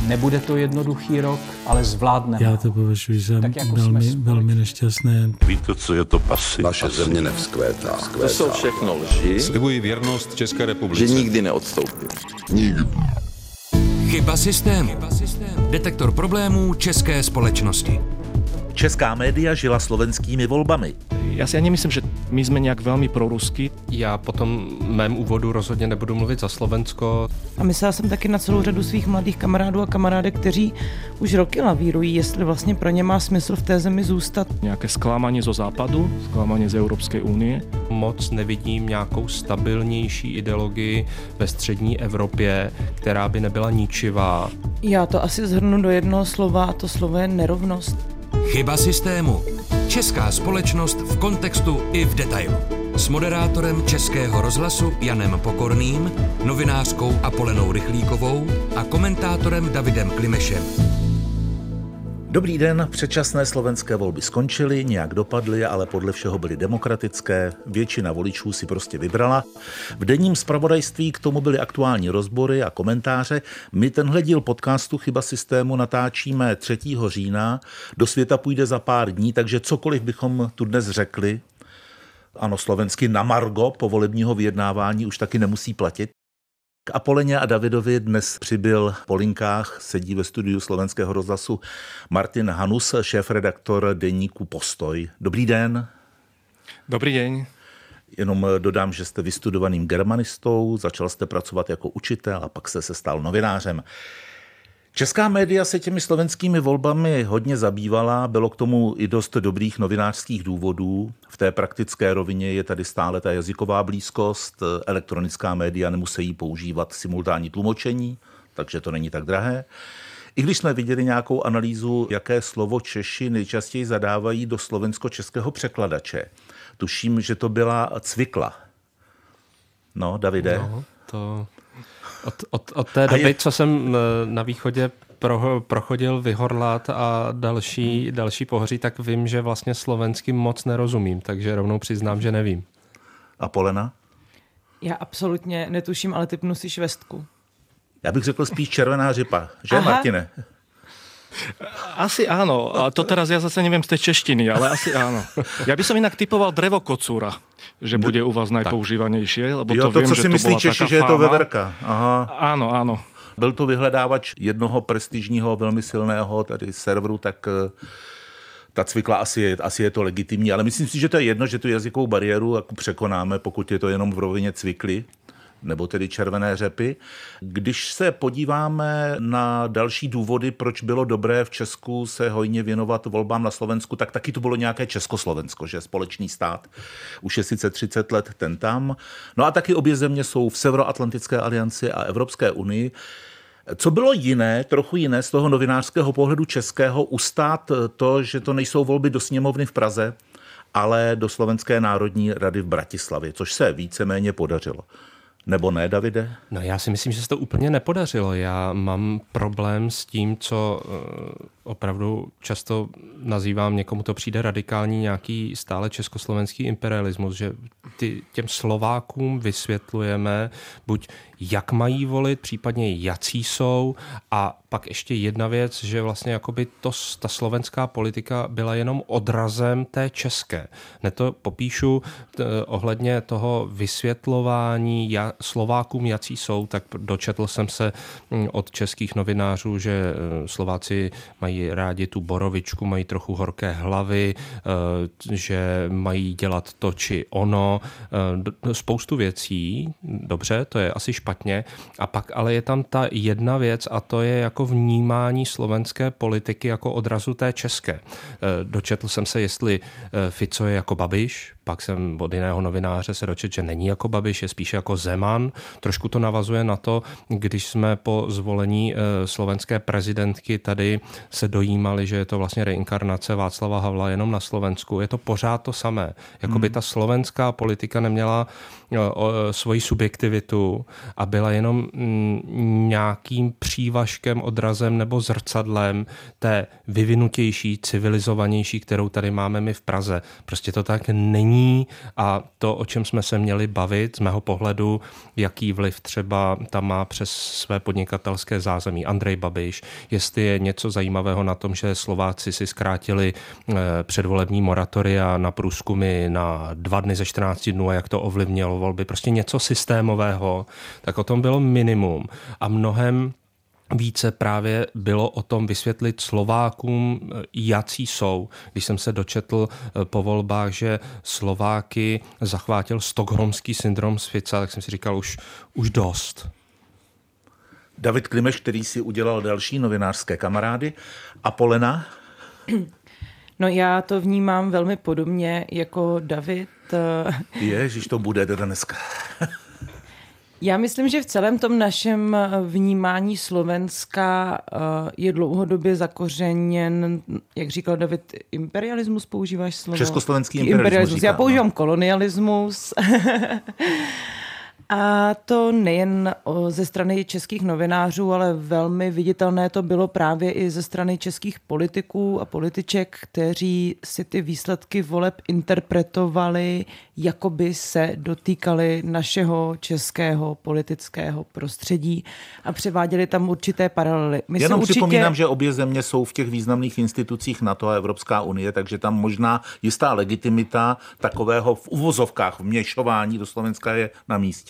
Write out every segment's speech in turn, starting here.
Nebude to jednoduchý rok, ale zvládneme. Já to považuji za velmi nešťastné. Víte, co je to pasy? Naše země nevzkvétá. To jsou všechno lži. Slibuji věrnost České republice. Že nikdy neodstoupím. Nikdy. Chyba systému. Detektor problémů české společnosti. Česká média žila slovenskými volbami. Já si ani nemyslím, že my jsme nějak velmi proruský. Já po tom mém úvodu rozhodně nebudu mluvit za Slovensko. A myslela jsem taky na celou řadu svých mladých kamarádů a kamarádek, kteří už roky lavírují, jestli vlastně pro ně má smysl v té zemi zůstat. Nějaké zklamání zo západu, zklamání z Evropské unie. Moc nevidím nějakou stabilnější ideologii ve střední Evropě, která by nebyla ničivá. Já to asi shrnu do jednoho slova a to slovo je nerovnost. Chyba systému. Česká společnost v kontextu i v detailu. S moderátorem Českého rozhlasu Janem Pokorným, novinářkou Apolenou Rychlíkovou a komentátorem Davidem Klimešem. Dobrý den, předčasné slovenské volby skončily, nějak dopadly, ale podle všeho byly demokratické, většina voličů si prostě vybrala. V denním zpravodajství k tomu byly aktuální rozbory a komentáře. My tenhle díl podcastu Chyba systému natáčíme 3. října, do světa půjde za pár dní, takže cokoliv bychom tu dnes řekli, ano, slovensky na margo povolebního vyjednávání už taky nemusí platit. K Apoleně a Davidovi dnes přibyl po linkách, sedí ve studiu Slovenského rozhlasu Martin Hanus, šéfredaktor deníku Postoj. Dobrý den. Dobrý den. Jenom dodám, že jste vystudovaným germanistou, začal jste pracovat jako učitel a pak jste se stal novinářem. Česká média se těmi slovenskými volbami hodně zabývala, bylo k tomu i dost dobrých novinářských důvodů. V té praktické rovině je tady stále ta jazyková blízkost, elektronická média nemusí používat simultánní tlumočení, takže to není tak drahé. I když jsme viděli nějakou analýzu, jaké slovo Češi nejčastěji zadávají do slovensko-českého překladače. Tuším, že to byla cvikla. No, Davide? No, to... Od té doby, co jsem na východě prochodil Vyhorlat a další pohoří, tak vím, že vlastně slovensky moc nerozumím, takže rovnou přiznám, že nevím. A Polena? Já absolutně netuším, ale typnu si švestku. Já bych řekl spíš červená řipa, že Martine? Asi áno, a to teraz ja zase neviem z tej češtiny, ale asi áno. Ja by som inak typoval drevokocúra, že bude u vás najpoužívanejšie, lebo jo, to viem, co že si to myslí bola Češi, taká že je to fáma. veverka. Aha. Áno, áno. Byl to vyhledávač jednoho prestižního, velmi silného tady serveru, tak ta cvikla asi je to legitimní, ale myslím si, že to je jedno, že tu jazykovou bariéru jako překonáme, pokud je to jenom v rovině cvikly, nebo tedy červené řepy. Když se podíváme na další důvody, proč bylo dobré v Česku se hojně věnovat volbám na Slovensku, tak taky to bylo nějaké Československo, že společný stát. Už je sice 30 let ten tam. No a taky obě země jsou v Severoatlantické alianci a Evropské unii. Co bylo jiné, trochu jiné z toho novinářského pohledu českého, ustát to, že to nejsou volby do sněmovny v Praze, ale do Slovenské národní rady v Bratislavě, což se víceméně podařilo. Nebo ne, Davide? No já si myslím, že se to úplně nepodařilo. Já mám problém s tím, co opravdu často nazývám, někomu to přijde radikální, nějaký stále československý imperialismus, že těm Slovákům vysvětlujeme buď jak mají volit, případně jací jsou, a pak ještě jedna věc, že vlastně jakoby ta slovenská politika byla jenom odrazem té české. Ne to popíšu ohledně toho vysvětlování Slovákům jací jsou, tak dočetl jsem se od českých novinářů, že Slováci mají rádi tu borovičku, mají trochu horké hlavy, že mají dělat to či ono, spoustu věcí, dobře, to je asi špatně, a pak ale je tam ta jedna věc a to je jako vnímání slovenské politiky jako odrazu té české. Dočetl jsem se, jestli Fico je jako Babiš, pak jsem od jiného novináře se dočetl, že není jako Babiš, je spíše jako Zeman. Trošku to navazuje na to, když jsme po zvolení slovenské prezidentky tady se dojímali, že je to vlastně reinkarnace Václava Havla jenom na Slovensku. Je to pořád to samé. Jakoby ta slovenská politika neměla svoji subjektivitu a byla jenom nějakým přívažkem, odrazem nebo zrcadlem té vyvinutější, civilizovanější, kterou tady máme my v Praze. Prostě to tak není není a to, o čem jsme se měli bavit, z mého pohledu, jaký vliv třeba tam má přes své podnikatelské zázemí Andrej Babiš, jestli je něco zajímavého na tom, že Slováci si zkrátili předvolební moratoria na průzkumy na 2 dny ze 14 dnů a jak to ovlivnilo volby, prostě něco systémového, tak o tom bylo minimum a mnohem více právě bylo o tom vysvětlit Slovákům, jací jsou. Když jsem se dočetl po volbách, že Slováky zachvátil stockholmský syndrom z Fica, tak jsem si říkal už dost. David Klimeš, který si udělal další novinářské kamarády. A Polena? No já to vnímám velmi podobně jako David. Ježiš, to bude dneska. Já myslím, že v celém tom našem vnímání Slovenska je dlouhodobě zakořeněn, jak říkal David, imperialismus, používáš slovo? Československý imperialismus. Já používám kolonialismus. A to nejen ze strany českých novinářů, ale velmi viditelné to bylo právě i ze strany českých politiků a političek, kteří si ty výsledky voleb interpretovali, jako by se dotýkali našeho českého politického prostředí a převáděli tam určité paralely. Jenom připomínám, že obě země jsou v těch významných institucích NATO a Evropská unie, takže tam možná jistá legitimita takového v uvozovkách vměšování do Slovenska je na místě.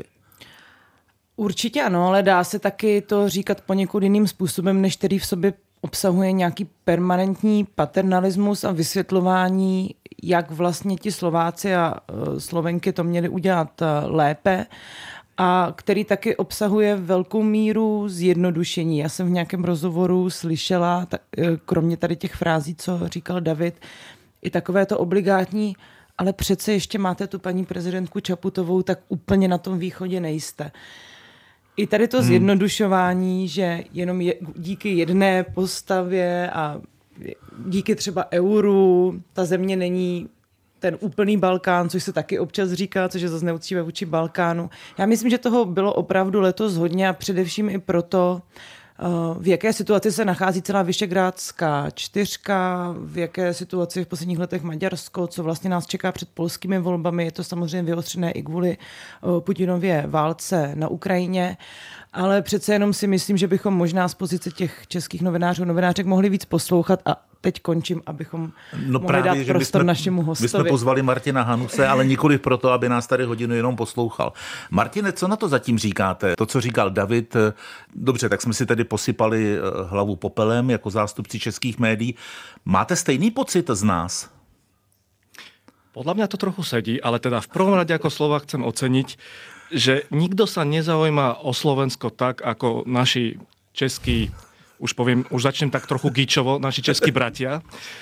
Určitě ano, ale dá se taky to říkat poněkud jiným způsobem, než který v sobě obsahuje nějaký permanentní paternalismus a vysvětlování, jak vlastně ti Slováci a Slovenky to měli udělat lépe a který taky obsahuje velkou míru zjednodušení. Já jsem v nějakém rozhovoru slyšela, kromě tady těch frází, co říkal David, i takové to obligátní, ale přece ještě máte tu paní prezidentku Čaputovou, tak úplně na tom východě nejste. I tady to zjednodušování, že jenom díky jedné postavě a díky třeba euru ta země není ten úplný Balkán, což se taky občas říká, což je zase neúctivé vůči Balkánu. Já myslím, že toho bylo opravdu letos hodně a především i proto, v jaké situaci se nachází celá Visegrádská čtyřka, v jaké situaci v posledních letech Maďarsko, co vlastně nás čeká před polskými volbami. Je to samozřejmě vyostřené i kvůli Putinově válce na Ukrajině, ale přece jenom si myslím, že bychom možná z pozice těch českých novinářů, novinářek mohli víc poslouchat a teď končím, abychom mohli dát prostor našemu hostovi. My jsme pozvali Martina Hanuse, ale nikoli proto, aby nás tady hodinu jenom poslouchal. Martine, co na to zatím říkáte? To, co říkal David, dobře, tak jsme si tady posypali hlavu popelem jako zástupci českých médií. Máte stejný pocit z nás? Podľa mňa to trochu sedí, ale teda v prvom rade ako Slovák chcem oceniť, že nikto sa nezaujíma o Slovensko tak, ako naši českí, už začnem tak trochu gíčovo, naši českí bratia,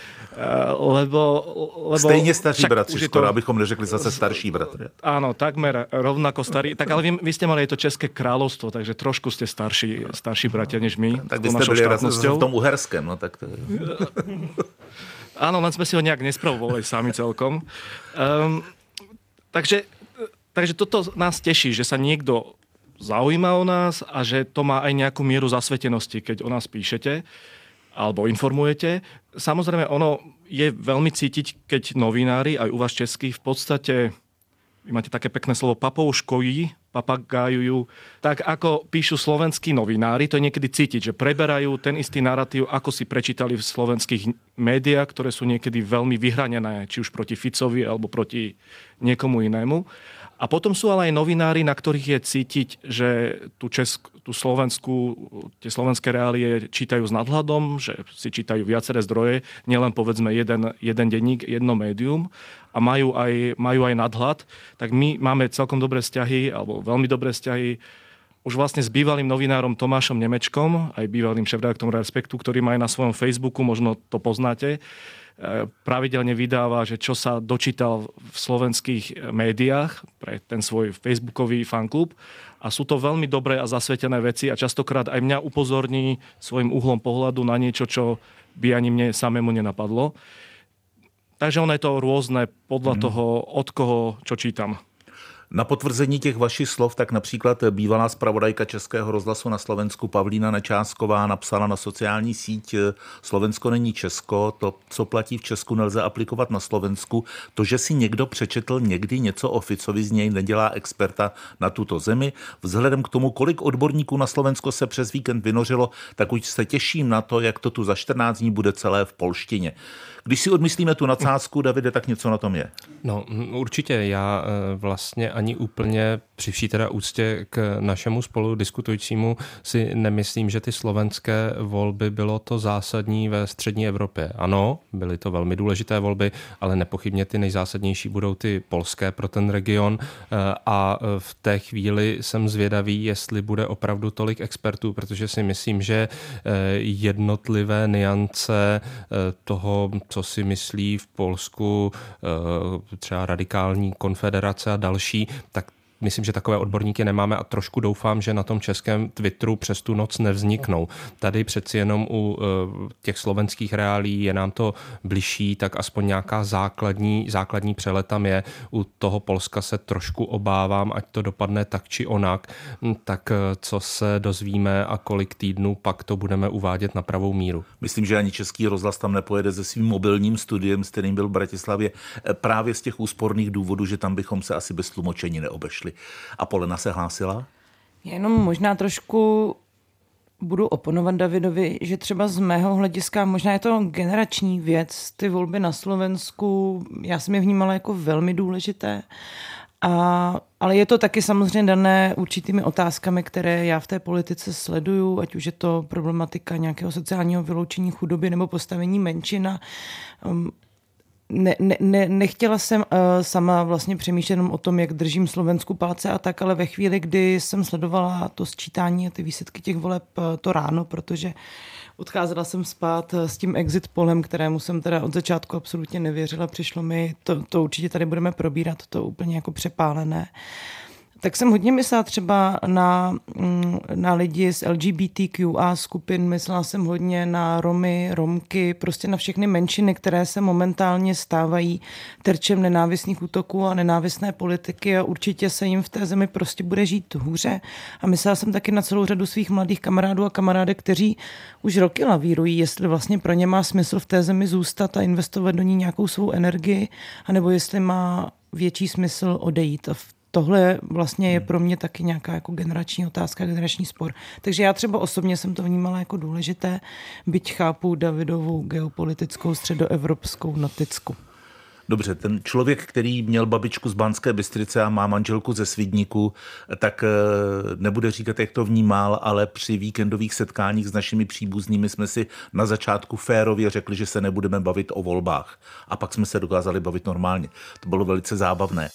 lebo stejně staří bratři, skoro, abychom neřekli zase starší bratři. Áno, takmer rovnako starí. Tak ale vy ste mali aj to České kráľovstvo, takže trošku ste starší bratia než my. Tak vy ste byli v tom Uherském, no tak to je. Áno, len sme si ho nejak nespravovali sami celkom. Takže toto nás teší, že sa niekto zaujíma o nás a že to má aj nejakú mieru zasvetenosti, keď o nás píšete alebo informujete. Samozrejme, ono je veľmi cítiť, keď novinári, aj u vás českých, v podstate, vy máte také pekné slovo, papagájujú, tak ako píšu slovenskí novinári, to je niekedy cítiť, že preberajú ten istý narratív, ako si prečítali v slovenských médiách, ktoré sú niekedy veľmi vyhranené, či už proti Ficovi alebo proti niekomu inému. A potom sú ale aj novinári, na ktorých je cítiť, že tú tie slovenské reálie čítajú s nadhľadom, že si čítajú viaceré zdroje, nielen povedzme jeden denník, jedno médium a majú aj nadhľad. Tak my máme celkom dobré vzťahy, alebo veľmi dobré vzťahy už vlastne s bývalým novinárom Tomášom Nemečkom, aj bývalým šéfredaktorom Respektu, ktorý má aj na svojom Facebooku, možno to poznáte, pravidelne vydáva, že čo sa dočítal v slovenských médiách pre ten svoj facebookový fanklub a sú to veľmi dobré a zasvetené veci a častokrát aj mňa upozorní svojim uhlom pohľadu na niečo, čo by ani mne samému nenapadlo. Takže ono je to rôzne podľa toho, od koho čo čítam. Na potvrzení těch vašich slov, tak například bývalá zpravodajka Českého rozhlasu na Slovensku Pavlína Nečásková napsala na sociální síť Slovensko není Česko, to, co platí v Česku, nelze aplikovat na Slovensku. To, že si někdo přečetl někdy něco o Ficovi, z něj nedělá experta na tuto zemi. Vzhledem k tomu, kolik odborníků na Slovensko se přes víkend vynořilo, tak už se těším na to, jak to tu za 14 dní bude celé v polštině. Když si odmyslíme tu nadsázku, Davide, tak něco na tom je. No určitě, já vlastně ani úplně při vší teda úctě k našemu spolu diskutujícímu si nemyslím, že ty slovenské volby bylo to zásadní ve střední Evropě. Ano, byly to velmi důležité volby, ale nepochybně ty nejzásadnější budou ty polské pro ten region a v té chvíli jsem zvědavý, jestli bude opravdu tolik expertů, protože si myslím, že jednotlivé nuance toho, co si myslí v Polsku třeba radikální konfederace a další, tak myslím, že takové odborníky nemáme a trošku doufám, že na tom českém Twitteru přes tu noc nevzniknou. Tady přeci jenom u těch slovenských reálí je nám to bližší, tak aspoň nějaká základní přelet tam je. U toho Polska se trošku obávám, ať to dopadne tak či onak, tak co se dozvíme a kolik týdnů pak to budeme uvádět na pravou míru. Myslím, že ani Český rozhlas tam nepojede se svým mobilním studiem, s kterým byl v Bratislavě, právě z těch úsporných důvodů, že tam bychom se asi bez tlumočení neobešli. A Polena se hlásila? Jenom možná trošku budu oponovat Davidovi, že třeba z mého hlediska, možná je to generační věc, ty volby na Slovensku, já jsem je vnímala jako velmi důležité, ale je to taky samozřejmě dané určitými otázkami, které já v té politice sleduju, ať už je to problematika nějakého sociálního vyloučení, chudoby nebo postavení menšin. Nechtěla jsem sama vlastně přemýšlet jenom o tom, jak držím Slovensku palce a tak, ale ve chvíli, kdy jsem sledovala to sčítání a ty výsledky těch voleb to ráno, protože odcházela jsem spát s tím exit polem, kterému jsem teda od začátku absolutně nevěřila. Přišlo mi, to určitě tady budeme probírat, to úplně jako přepálené. Tak jsem hodně myslela třeba na lidi z LGBTQA skupin, myslela jsem hodně na Romy, Romky, prostě na všechny menšiny, které se momentálně stávají terčem nenávistných útoků a nenávistné politiky a určitě se jim v té zemi prostě bude žít hůře. A myslela jsem taky na celou řadu svých mladých kamarádů a kamarádek, kteří už roky lavírují, jestli vlastně pro ně má smysl v té zemi zůstat a investovat do ní nějakou svou energii, anebo jestli má větší smysl odejít. A tohle vlastně je pro mě taky nějaká jako generační otázka, generační spor. Takže já třeba osobně jsem to vnímala jako důležité, byť chápu Davidovou geopolitickou středoevropskou noticku. Dobře, ten člověk, který měl babičku z Banské Bystrice a má manželku ze Svidníku, tak nebude říkat, jak to vnímal, ale při víkendových setkáních s našimi příbuznými jsme si na začátku férově řekli, že se nebudeme bavit o volbách. A pak jsme se dokázali bavit normálně. To bylo velice zábavné.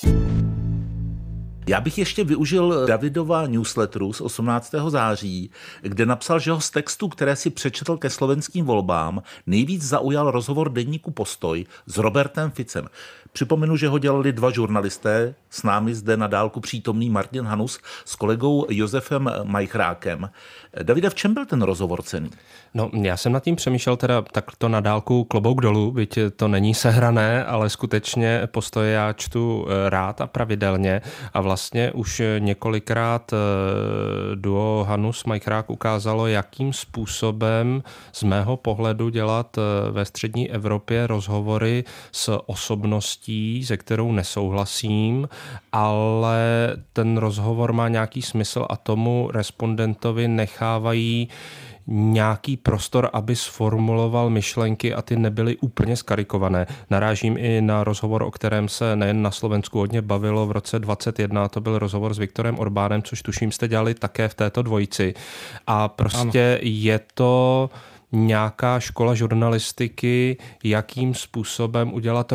Já bych ještě využil Davidova newsletteru z 18. září, kde napsal, že ho z textu, které si přečetl ke slovenským volbám, nejvíc zaujal rozhovor deníku Postoj s Robertem Ficem. Připomenu, že ho dělali dva žurnalisté, s námi zde na dálku přítomný Martin Hanus s kolegou Josefem Majchrákem. Davide, v čem byl ten rozhovor cenný? No, já jsem nad tím přemýšlel teda takto na dálku klobouk dolů, byť to není sehrané, ale skutečně Postoje já čtu rád a pravidelně a vlastně už několikrát duo Hanus Majchrák ukázalo, jakým způsobem z mého pohledu dělat ve střední Evropě rozhovory s osobností, se kterou nesouhlasím, ale ten rozhovor má nějaký smysl a tomu respondentovi nechávají nějaký prostor, aby sformuloval myšlenky a ty nebyly úplně skarikované. Narážím i na rozhovor, o kterém se nejen na Slovensku hodně bavilo v roce 2021, to byl rozhovor s Viktorem Orbánem, což tuším jste dělali také v této dvojici. A prostě je to nějaká škola žurnalistiky, jakým způsobem udělat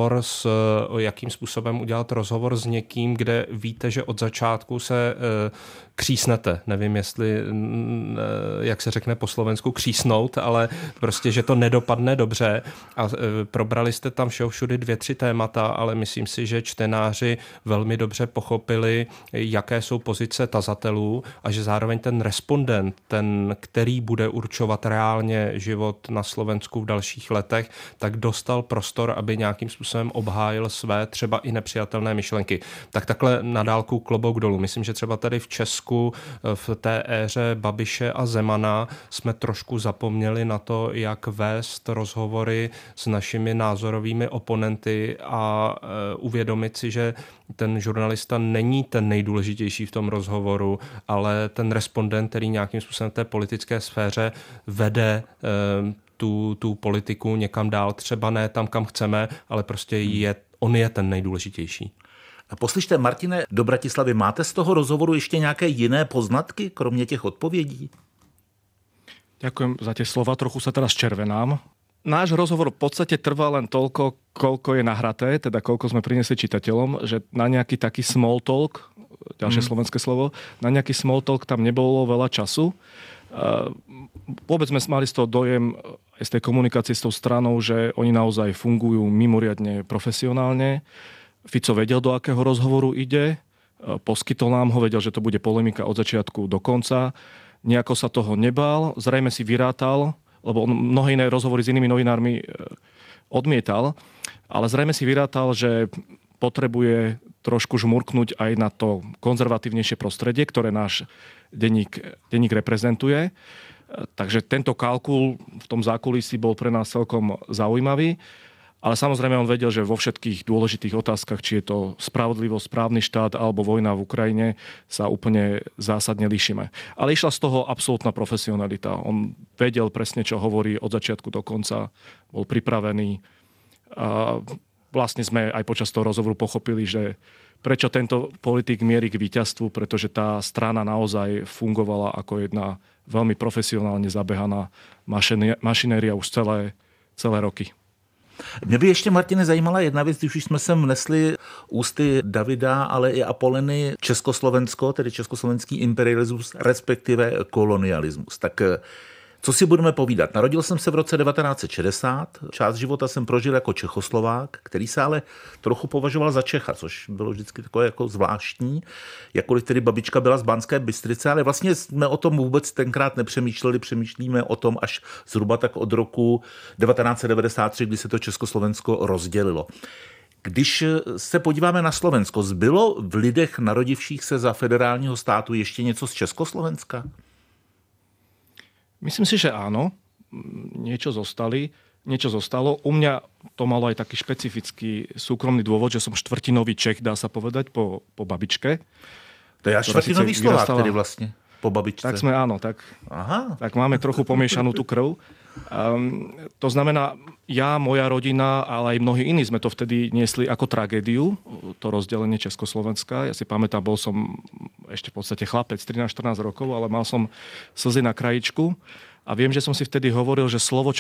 rozhovor s někým, kde víte, že od začátku se křísnete. Nevím, jestli, jak se řekne po slovensku, křísnout, ale prostě, že to nedopadne dobře. A probrali jste tam všudy 2-3 témata, ale myslím si, že čtenáři velmi dobře pochopili, jaké jsou pozice tazatelů a že zároveň ten respondent, ten, který bude určovat reálně reálně život na Slovensku v dalších letech, tak dostal prostor, aby nějakým způsobem obhájil své třeba i nepřijatelné myšlenky. Tak takhle na dálku klobouk dolů. Myslím, že třeba tady v Česku v té éře Babiše a Zemana jsme trošku zapomněli na to, jak vést rozhovory s našimi názorovými oponenty a uvědomit si, že ten žurnalista není ten nejdůležitější v tom rozhovoru, ale ten respondent, který nějakým způsobem v té politické sféře vede tu politiku někam dál, třeba ne tam, kam chceme, ale prostě on je ten nejdůležitější. A poslyšte, Martine, do Bratislavy, máte z toho rozhovoru ještě nějaké jiné poznatky, kromě těch odpovědí? Ďakujem za tie slova, trochu sa teraz červenám. Náš rozhovor v podstate trvá len toľko, koľko je nahraté, teda koľko sme priniesli čitateľom, že na nejaký taký small talk, ďalšie slovenské slovo, na nejaký small talk tam nebolo veľa času. Vôbec sme mali z toho dojem aj z tej komunikácie s tou stranou, že oni naozaj fungujú mimoriadne profesionálne. Fico vedel, do akého rozhovoru ide, poskytol nám ho, vedel, že to bude polemika od začiatku do konca. Nejako sa toho nebál, zrejme si vyrátal, lebo on mnohé iné rozhovory s inými novinármi odmietal, ale zrejme si vyrátal, že potrebuje trošku žmurknúť aj na to konzervatívnejšie prostredie, ktoré náš denník reprezentuje. Takže tento kalkul v tom zákulisí bol pre nás celkom zaujímavý. Ale samozrejme on vedel, že vo všetkých dôležitých otázkach, či je to spravodlivosť, správny štát alebo vojna v Ukrajine, sa úplne zásadne líšime. Ale išla z toho absolútna profesionalita. On vedel presne, čo hovorí od začiatku do konca, bol pripravený. A vlastne sme aj počas toho rozhovoru pochopili, že prečo tento politik mierí k víťazstvu, pretože tá strana naozaj fungovala ako jedna veľmi profesionálne zabehaná mašinéria už celé roky. Mě by ještě, Martine, zajímala jedna věc, když už jsme sem vnesli ústy Davida, ale i Apoleny Československo, tedy československý imperialismus, respektive kolonialismus. Tak co si budeme povídat? Narodil jsem se v roce 1960, část života jsem prožil jako Čechoslovák, který se ale trochu považoval za Čecha, což bylo vždycky takové jako zvláštní, jakkoliv tedy babička byla z Banské Bystrice, ale vlastně jsme o tom vůbec tenkrát nepřemýšleli, přemýšlíme o tom až zhruba tak od roku 1993, kdy se to Československo rozdělilo. Když se podíváme na Slovensko, zbylo v lidech narodivších se za federálního státu ještě něco z Československa? Myslím si, že áno. Niečo zostalo. U mňa to malo aj taký špecifický súkromný dôvod, že som štvrtinový Čech, dá sa povedať, po babičke. To je až štvrtinový Slovák, tedy vlastne, po babičce. Tak sme, áno. Tak máme trochu pomiešanú tú krv. To znamená, moja rodina, ale aj mnohí iní sme to vtedy niesli ako tragédiu, to rozdelenie Československa. Ja si pamätám, bol som ešte v podstate chlapec, 13-14 rokov, ale mal som slzy na krajičku a viem, že som si vtedy hovoril, že slovo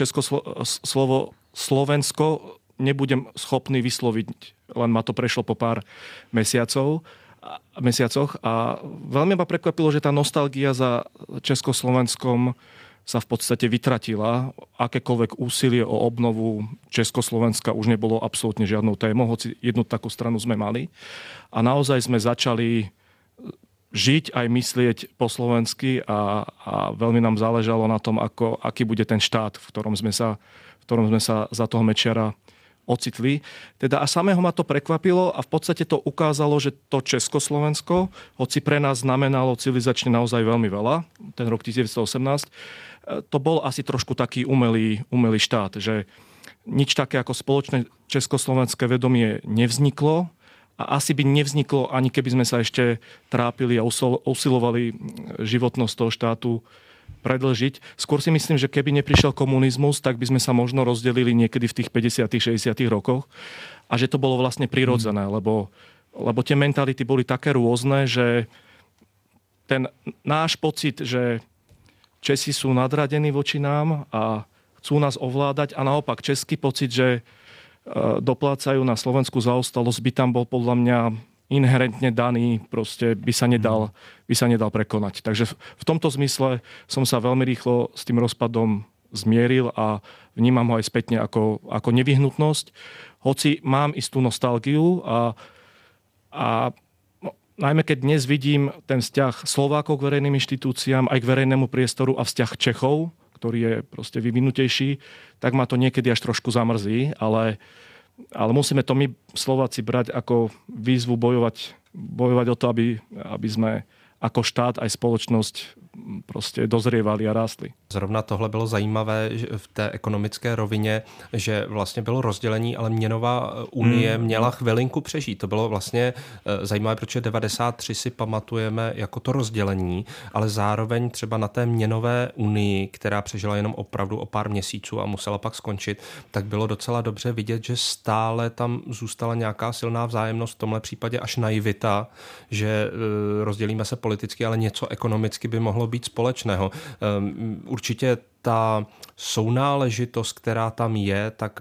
Slovensko nebudem schopný vysloviť, len ma to prešlo po pár mesiacoch a veľmi ma prekvapilo, že tá nostalgia za Československom sa v podstate vytratila. Akékoľvek úsilie o obnovu Československa už nebolo absolútne žiadnou témou, hoci jednu takú stranu sme mali. A naozaj sme začali žiť aj myslieť po slovensky a veľmi nám záležalo na tom, aký bude ten štát, v ktorom sme sa za toho Mečiara ocitli. Teda a samého ma to prekvapilo a v podstate to ukázalo, že to Československo, hoci pre nás znamenalo civilizačne naozaj veľmi veľa, ten rok 1918, to bol asi trošku taký umelý štát, že nič také ako spoločné československé vedomie nevzniklo a asi by nevzniklo, ani keby sme sa ešte trápili a usilovali životnosť toho štátu predĺžiť. Skôr si myslím, že keby neprišiel komunizmus, tak by sme sa možno rozdelili niekedy v tých 50. 60. rokoch a že to bolo vlastne prirodzené, lebo tie mentality boli také rôzne, že ten náš pocit, že Česi sú nadradení voči nám a chcú nás ovládať a naopak český pocit, že doplácajú na slovenskú zaostalosť, by tam bol podľa mňa inherentne daný, proste by sa nedal prekonať. Takže v tomto zmysle som sa veľmi rýchlo s tým rozpadom zmieril a vnímam ho aj spätne ako nevyhnutnosť. Hoci mám istú nostalgiu a najmä keď dnes vidím ten vzťah Slovákov k verejným inštitúciám, aj k verejnému priestoru a vzťah Čechov, ktorý je proste vyvinutejší, tak ma to niekedy až trošku zamrzí, ale musíme to my Slováci brať ako výzvu bojovať o to, aby sme ako štát aj spoločnosť prostě dozrievali a rástli. Zrovna tohle bylo zajímavé v té ekonomické rovině, že vlastně bylo rozdělení, ale měnová unie měla chvilinku přežít. To bylo vlastně zajímavé, protože 93 si pamatujeme jako to rozdělení, ale zároveň třeba na té měnové unii, která přežila jenom opravdu o pár měsíců a musela pak skončit, tak bylo docela dobře vidět, že stále tam zůstala nějaká silná vzájemnost, v tomhle případě až naivita, že rozdělíme se politicky, ale něco ekonomicky by mohlo být společného. Určitě ta sounáležitost, která tam je, tak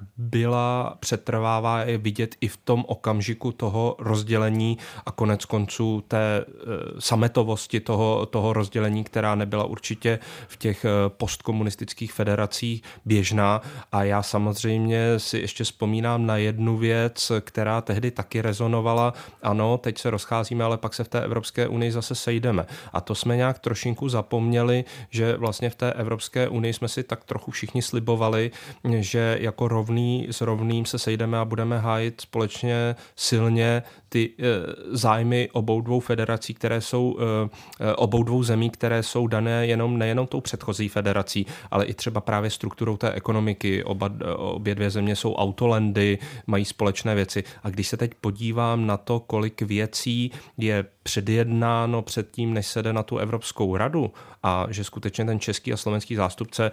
přetrvává je vidět i v tom okamžiku toho rozdělení a konec konců té sametovosti toho rozdělení, která nebyla určitě v těch postkomunistických federacích běžná. A já samozřejmě si ještě vzpomínám na jednu věc, která tehdy taky rezonovala. Ano, teď se rozcházíme, ale pak se v té Evropské unii zase sejdeme. A to jsme nějak trošinku zapomněli, že vlastně v té Evropské unii jsme si tak trochu všichni slibovali, že jako rovný s rovným se sejdeme a budeme hájit společně silně ty zájmy obou dvou federací, které jsou obou dvou zemí, které jsou dané nejenom tou předchozí federací, ale i třeba právě strukturou té ekonomiky. Obě dvě země jsou autolandy, mají společné věci. A když se teď podívám na to, kolik věcí je předjednáno předtím, než se jde na tu Evropskou radu a že skutečně ten český a slovenský zástupce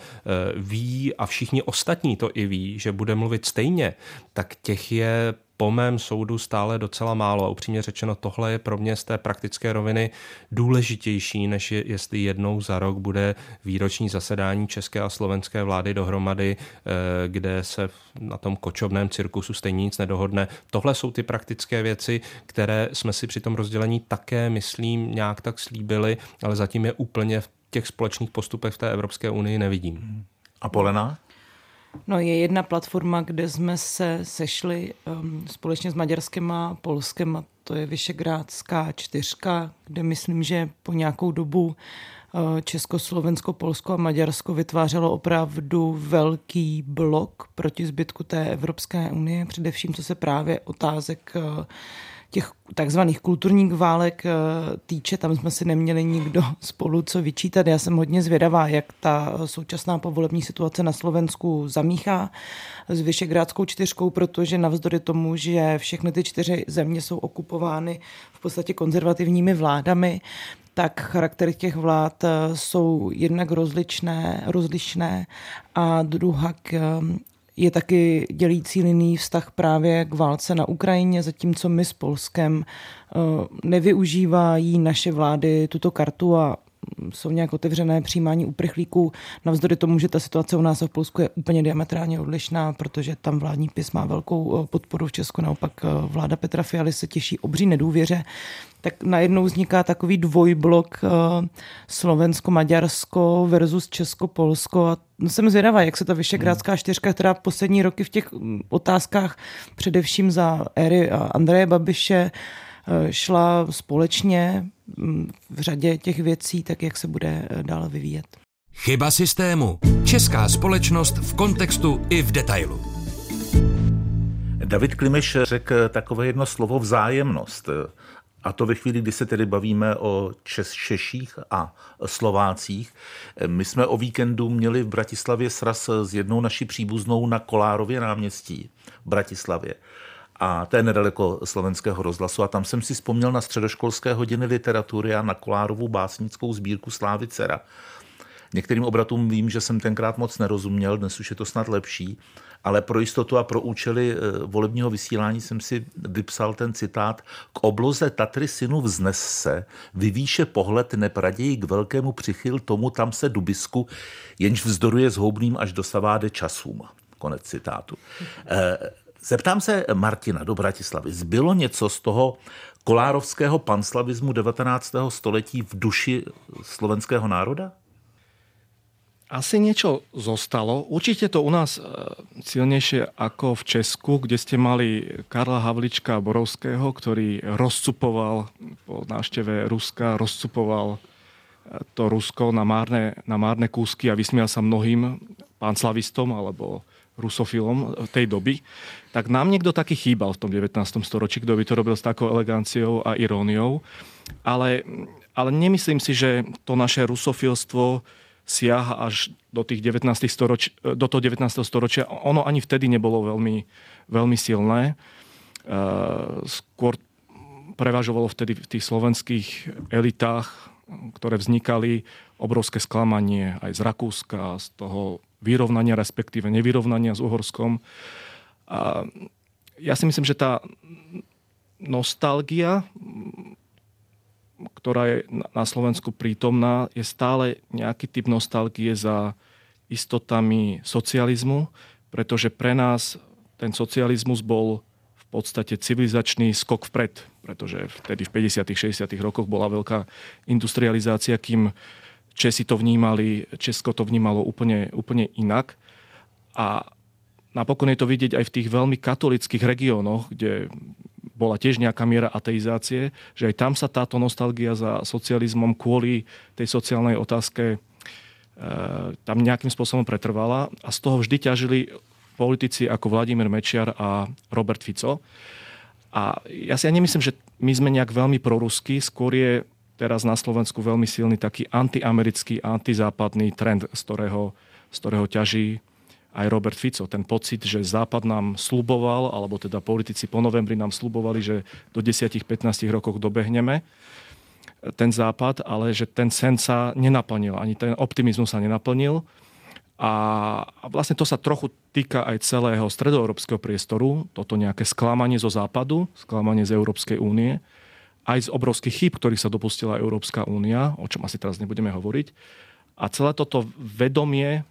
ví a všichni ostatní to i ví, že bude mluvit stejně, tak těch je po mém soudu stále docela málo. A upřímně řečeno, tohle je pro mě z té praktické roviny důležitější, než jestli jednou za rok bude výroční zasedání české a slovenské vlády dohromady, kde se na tom kočovném cirkusu stejně nic nedohodne. Tohle jsou ty praktické věci, které jsme si při tom rozdělení také, myslím, nějak tak slíbili, ale zatím je úplně v těch společných postupech v té Evropské unii nevidím. A Polena? No, je jedna platforma, kde jsme se sešli společně s Maďarskem a Polskem, a to je Visegrádská čtyřka, kde myslím, že po nějakou dobu Česko, Slovensko, Polsko a Maďarsko vytvářelo opravdu velký blok proti zbytku té Evropské unie, především co se právě otázek těch takzvaných kulturních válek týče, tam jsme si neměli nikdo spolu co vyčítat. Já jsem hodně zvědavá, jak ta současná povolební situace na Slovensku zamíchá s Visegrádskou čtyřkou, protože navzdory tomu, že všechny ty 4 země jsou okupovány v podstatě konzervativními vládami, tak charaktery těch vlád jsou jednak rozlišné a druhak je taky dělící linií vztah právě k válce na Ukrajině, zatímco my s Polskem nevyužívají naše vlády tuto kartu a jsou nějak otevřené přijímání uprchlíků, navzdory tomu, že ta situace u nás v Polsku je úplně diametrálně odlišná, protože tam vládní PiS má velkou podporu, v Česku naopak vláda Petra Fialy se těší obří nedůvěře, tak najednou vzniká takový dvojblok Slovensko-Maďarsko versus Česko-Polsko a jsem zvědavá, jak se ta Visegrádská čtyřka, která poslední roky v těch otázkách především za éry Andreje Babiše šla společně v řadě těch věcí, tak jak se bude dále vyvíjet. Chyba systému. Česká společnost v kontextu i v detailu. David Klimeš řekl takové jedno slovo vzájemnost. A to ve chvíli, kdy se tedy bavíme o Češích a Slovácích. My jsme o víkendu měli v Bratislavě sraz s jednou naší příbuznou na Kolárově náměstí v Bratislavě. A to je nedaleko Slovenského rozhlasu. A tam jsem si vzpomněl na středoškolské hodiny literatury a na Kolárovu básnickou sbírku Slávy Cera. Některým obratům vím, že jsem tenkrát moc nerozuměl, dnes už je to snad lepší, ale pro jistotu a pro účely volebního vysílání jsem si vypsal ten citát: K obloze Tatry synu vznes se, vyvýše pohled nepraději k velkému přichyl tomu tam se dubisku, jenž vzdoruje zhoubným až dosaváde časům. Konec citátu. Zeptám se Martina do Bratislavy. Zbylo něco z toho kolárovského panslavismu 19. století v duši slovenského národa? Asi niečo zostalo. Určite to u nás silnejšie ako v Česku, kde ste mali Karla Havlíčka Borovského, ktorý rozcupoval po návšteve Ruska, rozcupoval to Rusko na márne kúsky a vysmial sa mnohým pánslavistom alebo rusofilom tej doby, tak nám niekto taký chýbal v tom 19. storočí, kto by to robil s takou eleganciou a iróniou. Ale nemyslím si, že to naše rusofilstvo siaha až do tých 19. do toho 19. storočia. Ono ani vtedy nebolo veľmi, veľmi silné. Skôr prevažovalo vtedy v tých slovenských elitách, ktoré vznikali, obrovské sklamanie aj z Rakúska, z toho vyrovnania, respektíve nevyrovnania s Uhorskom. A ja si myslím, že tá nostalgia, ktorá je na Slovensku prítomná, je stále nejaký typ nostalgie za istotami socializmu, pretože pre nás ten socializmus bol v podstate civilizačný skok vpred, pretože vtedy v 50. 60. rokoch bola veľká industrializácia, kým Česko to vnímalo úplne inak. A napokon je to vidieť aj v tých veľmi katolických regiónoch, kde bola tiež nejaká miera ateizácie, že aj tam sa táto nostalgia za socializmom kvôli tej sociálnej otázke tam nejakým spôsobom pretrvala a z toho vždy ťažili politici ako Vladimír Mečiar a Robert Fico. A ja si nemyslím, že my sme nejak veľmi proruskí, skôr je teraz na Slovensku veľmi silný taký antiamerický, antizápadný trend, z ktorého ťaží aj Robert Fico. Ten pocit, že Západ nám sľuboval, alebo teda politici po novembri nám sľubovali, že do 10-15 rokov dobehneme ten Západ, ale že ten sen sa nenaplnil, ani ten optimizmus sa nenaplnil. A vlastne to sa trochu týka aj celého stredoeurópskeho priestoru, toto nejaké sklamanie zo Západu, sklamanie z Európskej únie, aj z obrovských chýb, ktorých sa dopustila Európska únia, o čom asi teraz nebudeme hovoriť. A celé toto vedomie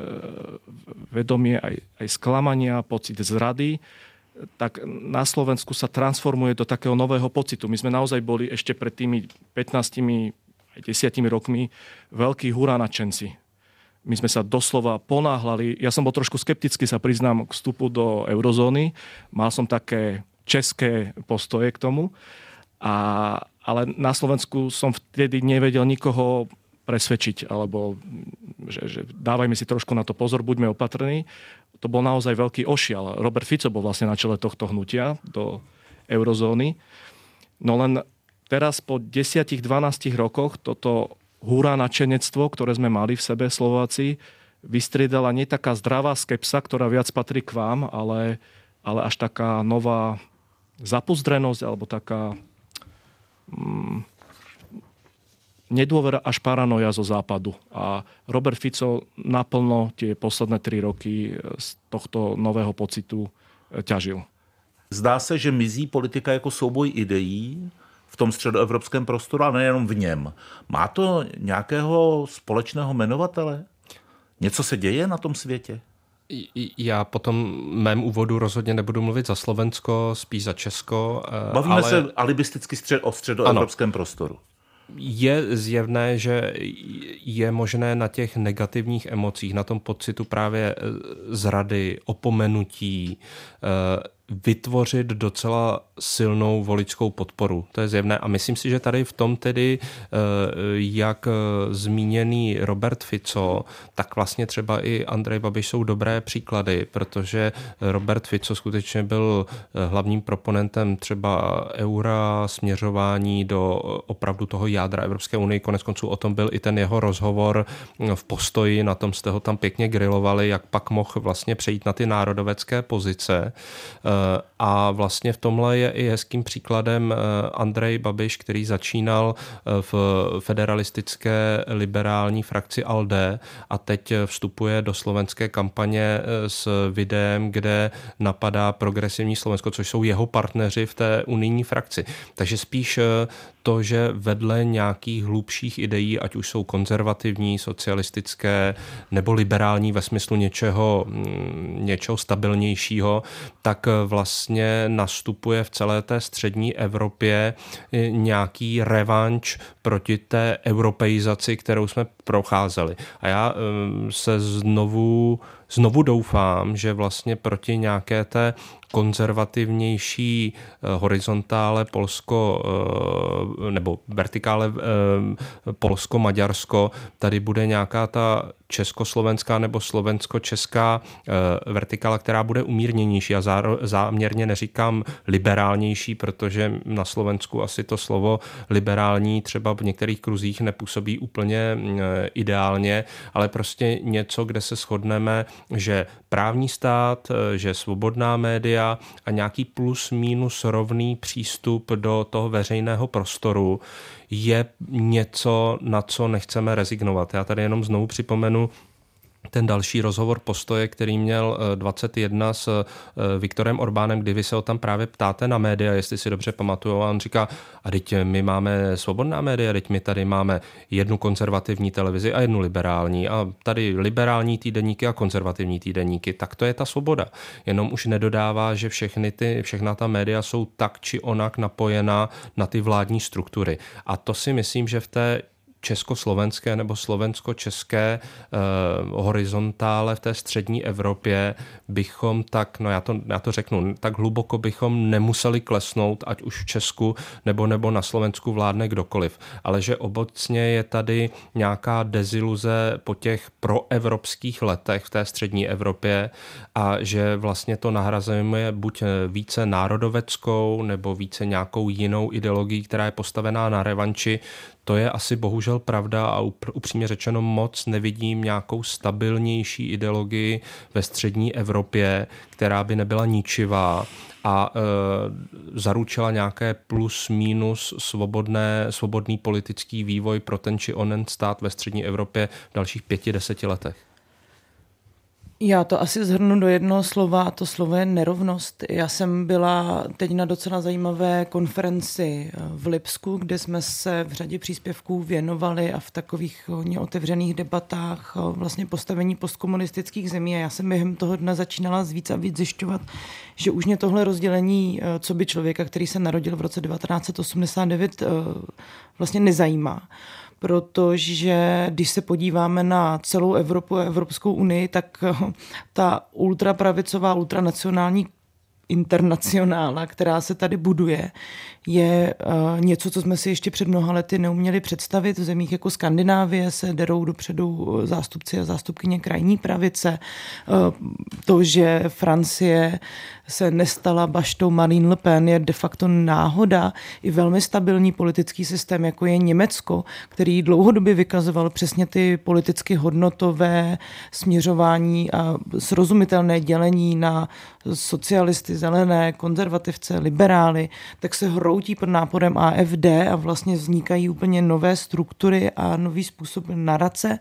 aj sklamania, pocit zrady, tak na Slovensku sa transformuje do takého nového pocitu. My sme naozaj boli ešte pred tými 15 aj 10 rokmi veľkí huránačenci. My sme sa doslova ponáhľali. Ja som bol trošku skeptický, sa priznám, k vstupu do eurozóny. Mal som také české postoje k tomu. Ale na Slovensku som vtedy nevedel nikoho presvedčiť, alebo že dávajme si trošku na to pozor, buďme opatrní. To bol naozaj veľký ošial. Robert Fico bol vlastne na čele tohto hnutia do eurozóny. No len teraz po 10-12 rokoch toto hurá nadšenectvo, ktoré sme mali v sebe Slováci, vystriedala nie taká zdravá skepsa, ktorá viac patrí k vám, ale až taká nová zapuzdrenosť, alebo taká nedôvera až paranoja zo Západu. A Robert Fico naplno tie posledné 3 roky z tohto nového pocitu ťažil. Zdá se, že mizí politika jako souboj ideí v tom středoevropském prostoru, a nejenom v něm. Má to nějakého společného jmenovatele? Něco se děje na tom světě? Já po tom mém úvodu rozhodně nebudu mluvit za Slovensko, spíš za Česko. Bavíme se alibisticky o středoevropském prostoru. Je zjevné, že je možné na těch negativních emocích, na tom pocitu právě zrady, opomenutí, vytvořit docela silnou voličskou podporu. To je zjevné. A myslím si, že tady v tom tedy, jak zmíněný Robert Fico, tak vlastně třeba i Andrej Babiš jsou dobré příklady, protože Robert Fico skutečně byl hlavním proponentem třeba eura, směřování do opravdu toho jádra Evropské unie. Konec konců o tom byl i ten jeho rozhovor v Postoji, na tom jste ho tam pěkně grilovali, jak pak mohl vlastně přejít na ty národovecké pozice. A vlastně v tomhle je i hezkým příkladem Andrej Babiš, který začínal v federalistické liberální frakci ALDE a teď vstupuje do slovenské kampaně s videem, kde napadá progresivní Slovensko, což jsou jeho partneři v té unijní frakci. Takže spíš to, že vedle nějakých hlubších ideí, ať už jsou konzervativní, socialistické nebo liberální ve smyslu něčeho stabilnějšího, tak vlastně nastupuje v celé té střední Evropě nějaký revanš proti té europeizaci, kterou jsme procházeli. A já se znovu doufám, že vlastně proti nějaké té konzervativnější horizontále Polsko nebo vertikále Polsko-Maďarsko, tady bude nějaká ta československá nebo slovensko-česká vertikála, která bude umírněnější. Já záměrně neříkám liberálnější, protože na Slovensku asi to slovo liberální třeba v některých kruzích nepůsobí úplně ideálně, ale prostě něco, kde se shodneme, že právní stát, že svobodná média a nějaký plus minus rovný přístup do toho veřejného prostoru je něco, na co nechceme rezignovat. Já tady jenom znovu připomenu ten další rozhovor Postoje, který měl 21 s Viktorem Orbánem, kdy vy se ho tam právě ptáte na média, jestli si dobře pamatuju, a on říká, a teď my máme svobodná média, teď my tady máme jednu konzervativní televizi a jednu liberální a tady liberální týdeníky a konzervativní týdeníky, tak to je ta svoboda. Jenom už nedodává, že všechna ta média jsou tak či onak napojená na ty vládní struktury. A to si myslím, že v té československé nebo slovensko-české horizontále v té střední Evropě bychom tak, no já to řeknu, tak hluboko bychom nemuseli klesnout, ať už v Česku nebo na Slovensku vládne kdokoliv. Ale že obecně je tady nějaká deziluze po těch proevropských letech v té střední Evropě a že vlastně to nahrazujeme buď více národoveckou nebo více nějakou jinou ideologií, která je postavená na revanči. To je asi bohužel pravda a upřímně řečeno moc nevidím nějakou stabilnější ideologii ve střední Evropě, která by nebyla ničivá a zaručila nějaké plus minus svobodný politický vývoj pro ten či onen stát ve střední Evropě v dalších 5-10 letech. Já to asi shrnu do jednoho slova a to slovo je nerovnost. Já jsem byla teď na docela zajímavé konferenci v Lipsku, kde jsme se v řadě příspěvků věnovali a v takových hodně otevřených debatách vlastně postavení postkomunistických zemí a já jsem během toho dne začínala víc a víc zjišťovat, že už mě tohle rozdělení co by člověka, který se narodil v roce 1989, vlastně nezajímá. Protože když se podíváme na celou Evropu a Evropskou unii, tak ta ultrapravicová, ultranacionální internacionála, která se tady buduje, je něco, co jsme si ještě před mnoha lety neuměli představit. V zemích jako Skandinávie se derou dopředu zástupci a zástupkyně krajní pravice. To, že Francie se nestala baštou Marine Le Pen, je de facto náhoda. I velmi stabilní politický systém, jako je Německo, který dlouhodobě vykazoval přesně ty politicky hodnotové směřování a srozumitelné dělení na socialisty, zelené, konzervativce, liberály, tak se hroutí pod náporem AfD a vlastně vznikají úplně nové struktury a nový způsob narace.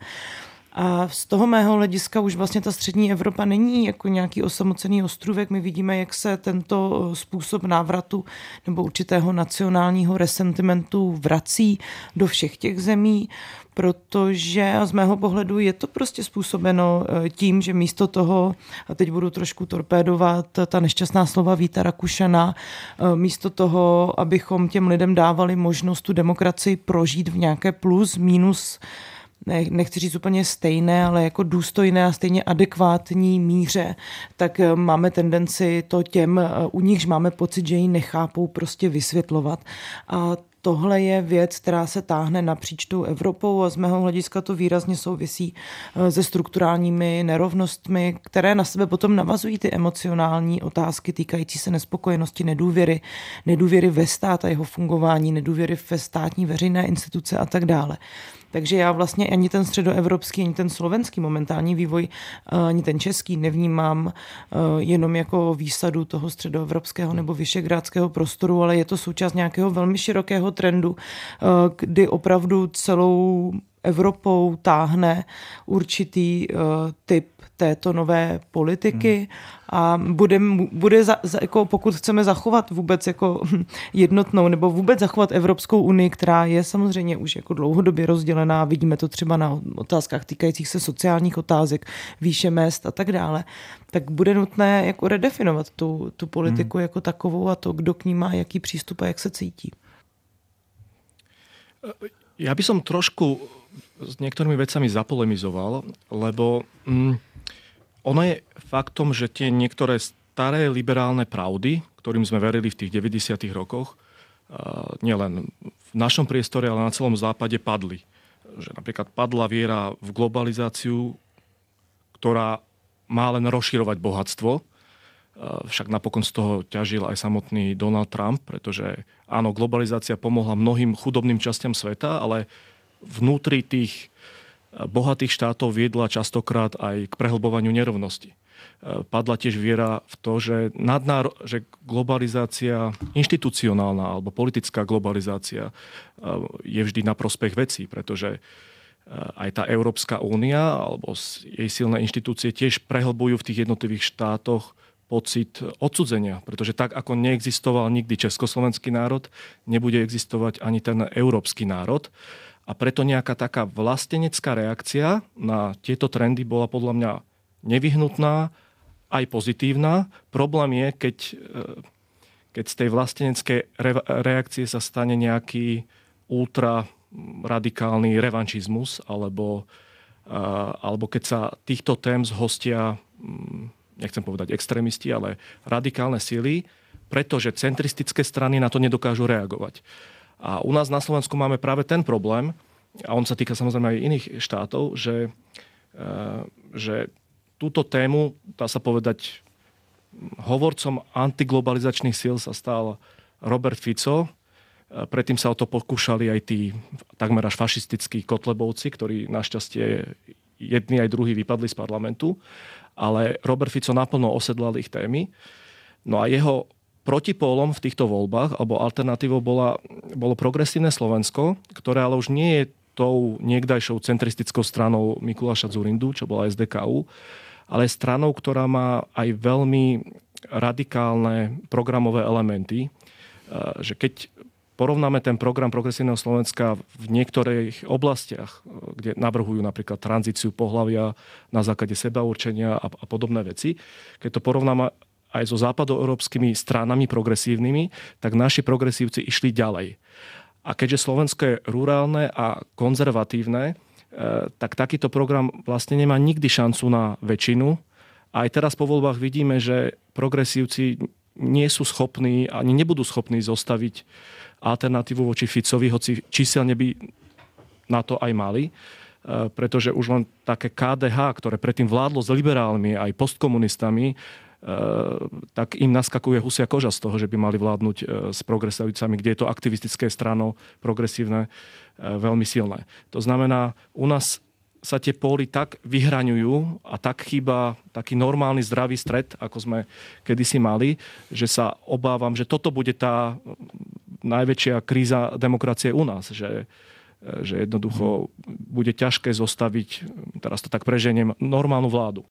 A z toho mého hlediska už vlastně ta střední Evropa není jako nějaký osamocený ostrůvek. My vidíme, jak se tento způsob návratu nebo určitého nacionálního resentimentu vrací do všech těch zemí, protože z mého pohledu je to prostě způsobeno tím, že místo toho, a teď budu trošku torpédovat ta nešťastná slova Víta Rakušana, místo toho, abychom těm lidem dávali možnost tu demokracii prožít v nějaké plus, minus, nechci říct úplně stejné, ale jako důstojné a stejně adekvátní míře, tak máme tendenci to těm, u nichž máme pocit, že ji nechápou, prostě vysvětlovat. A tohle je věc, která se táhne napříč tou Evropou a z mého hlediska to výrazně souvisí se strukturálními nerovnostmi, které na sebe potom navazují ty emocionální otázky týkající se nespokojenosti, nedůvěry ve stát a jeho fungování, nedůvěry ve státní veřejné instituce a tak dále. Takže já vlastně ani ten středoevropský, ani ten slovenský momentální vývoj, ani ten český nevnímám jenom jako výsadu toho středoevropského nebo vyšegrádského prostoru, ale je to součást nějakého velmi širokého trendu, kdy opravdu celou Evropou táhne určitý typ této nové politiky a bude jako pokud chceme zachovat vůbec jako jednotnou nebo vůbec zachovat Evropskou unii, která je samozřejmě už jako dlouhodobě rozdělená, vidíme to třeba na otázkách týkajících se sociálních otázek, výše mezd a tak dále, tak bude nutné jako redefinovat tu politiku jako takovou a to, kdo k ní má jaký přístup a jak se cítí. Ja by som trošku s niektorými vecami zapolemizoval, lebo ono je faktom, že tie niektoré staré liberálne pravdy, ktorým sme verili v tých 90. rokoch, nielen v našom priestore, ale na celom západe padli. Že napríklad padla viera v globalizáciu, ktorá má len rozširovať bohatstvo. Však napokon z toho ťažil aj samotný Donald Trump, pretože áno, globalizácia pomohla mnohým chudobným častiam sveta, ale vnútri tých bohatých štátov viedla častokrát aj k prehlbovaniu nerovnosti. Padla tiež viera v to, že globalizácia inštitucionálna alebo politická globalizácia je vždy na prospech vecí, pretože aj tá Európska únia alebo jej silné inštitúcie tiež prehlbujú v tých jednotlivých štátoch pocit odcudzenia, pretože tak, ako neexistoval nikdy československý národ, nebude existovať ani ten európsky národ. A preto nejaká taká vlastenecká reakcia na tieto trendy bola podľa mňa nevyhnutná, aj pozitívna. Problém je, keď z tej vlasteneckej reakcie sa stane nejaký ultraradikálny revanšizmus, alebo keď sa týchto tém zhostia, nechcem povedať extrémisti, ale radikálne sily, pretože centristické strany na to nedokážu reagovať. A u nás na Slovensku máme práve ten problém, a on sa týka samozrejme aj iných štátov, že túto tému, dá sa povedať, hovorcom antiglobalizačných síl sa stal Robert Fico. Predtým sa o to pokúšali aj tí takmer až fašistickí kotlebovci, ktorí našťastie jedni aj druhí vypadli z parlamentu. Ale Robert Fico naplno osedlal ich témy. No a jeho protipólom v týchto voľbách, alebo alternatívou bolo progresívne Slovensko, ktoré ale už nie je tou niekdajšou centristickou stranou Mikuláša Dzurindu, čo bola SDKU, ale stranou, ktorá má aj veľmi radikálne programové elementy. Že keď porovnáme ten program progresívneho Slovenska v niektorých oblastiach, kde navrhujú napríklad tranzíciu pohlavia na základe sebaurčenia a podobné veci, keď to porovnáme aj so západoeurópskymi stranami progresívnymi, tak naši progresívci išli ďalej. A keďže Slovensko je rurálne a konzervatívne, tak takýto program vlastne nemá nikdy šancu na väčšinu. A aj teraz po voľbách vidíme, že progresívci nie sú schopní, ani nebudú schopní zostaviť alternatívu voči Ficovi, hoci číselne by na to aj mali, pretože už len také KDH, ktoré predtým vládlo s liberálmi aj postkomunistami, tak im naskakuje husia koža z toho, že by mali vládnuť s progresívcami, kde je to aktivistické strano progresívne veľmi silné. To znamená, u nás sa tie póly tak vyhraňujú a tak chýba taký normálny zdravý stred, ako sme kedysi mali, že sa obávam, že toto bude tá najväčšia kríza demokracie u nás, že jednoducho bude ťažké zostaviť, teraz to tak preženiem, normálnu vládu.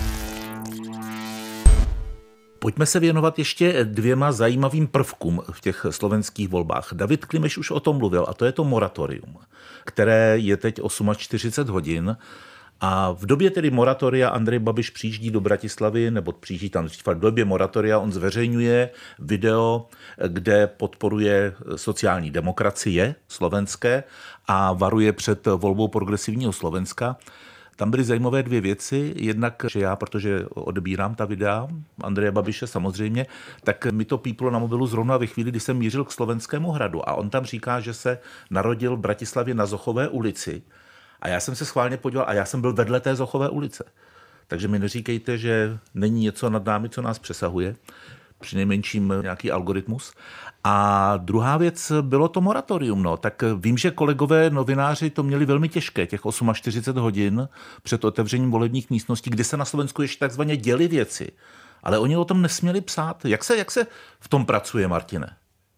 Pojďme se věnovat ještě dvěma zajímavým prvkům v těch slovenských volbách. David Klimeš už o tom mluvil, a to je to moratorium, které je teď 48 hodin. A v době tedy moratoria Andrej Babiš přijíždí do Bratislavy, nebo přijíždí tam v době moratoria, on zveřejňuje video, kde podporuje sociální demokracie slovenské a varuje před volbou progresivního Slovenska. Tam byly zajímavé dvě věci. Jednak, že já, protože odebírám ta videa Andreje Babiše samozřejmě, tak mi to píplo na mobilu zrovna ve chvíli, kdy jsem mířil k Slovenskému hradu. A on tam říká, že se narodil v Bratislavě na Zochové ulici. A já jsem se schválně podíval a já jsem byl vedle té Zochové ulice. Takže mi neříkejte, že není něco nad námi, co nás přesahuje. Přinejmenším nějaký algoritmus. A druhá věc bylo to moratorium. No. Tak vím, že kolegové novináři to měli velmi těžké, těch 48 hodin před otevřením volebních místností, kde se na Slovensku ještě takzvaně děly věci. Ale oni o tom nesměli psát. Jak se v tom pracuje, Martine?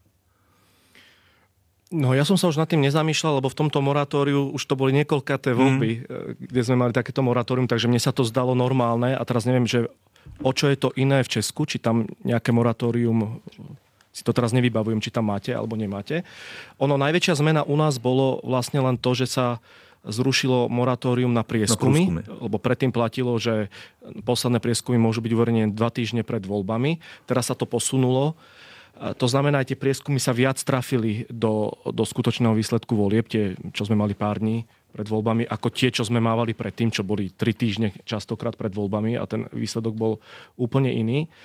No ja som sa už nad tým nezamýšľal, lebo v tomto moratóriu už to boli niekoľkaté voľby, kde sme mali takéto moratórium, takže mne sa to zdalo normálne a teraz neviem, že o čo je to iné v Česku, či tam nejaké moratórium, si to teraz nevybavujem, či tam máte alebo nemáte. Ono, najväčšia zmena u nás bolo vlastne len to, že sa zrušilo moratórium na prieskumy, lebo predtým platilo, že posledné prieskumy môžu byť uverejnené 2 týždne pred voľbami. Teraz sa to posunulo. To znamená, aj tie prieskumy sa viac trafili do skutočného výsledku volieb, tie, čo sme mali pár dní pred voľbami, ako tie, čo sme mávali predtým, čo boli 3 týždne častokrát pred voľbami a ten výsledok bol úplne iný.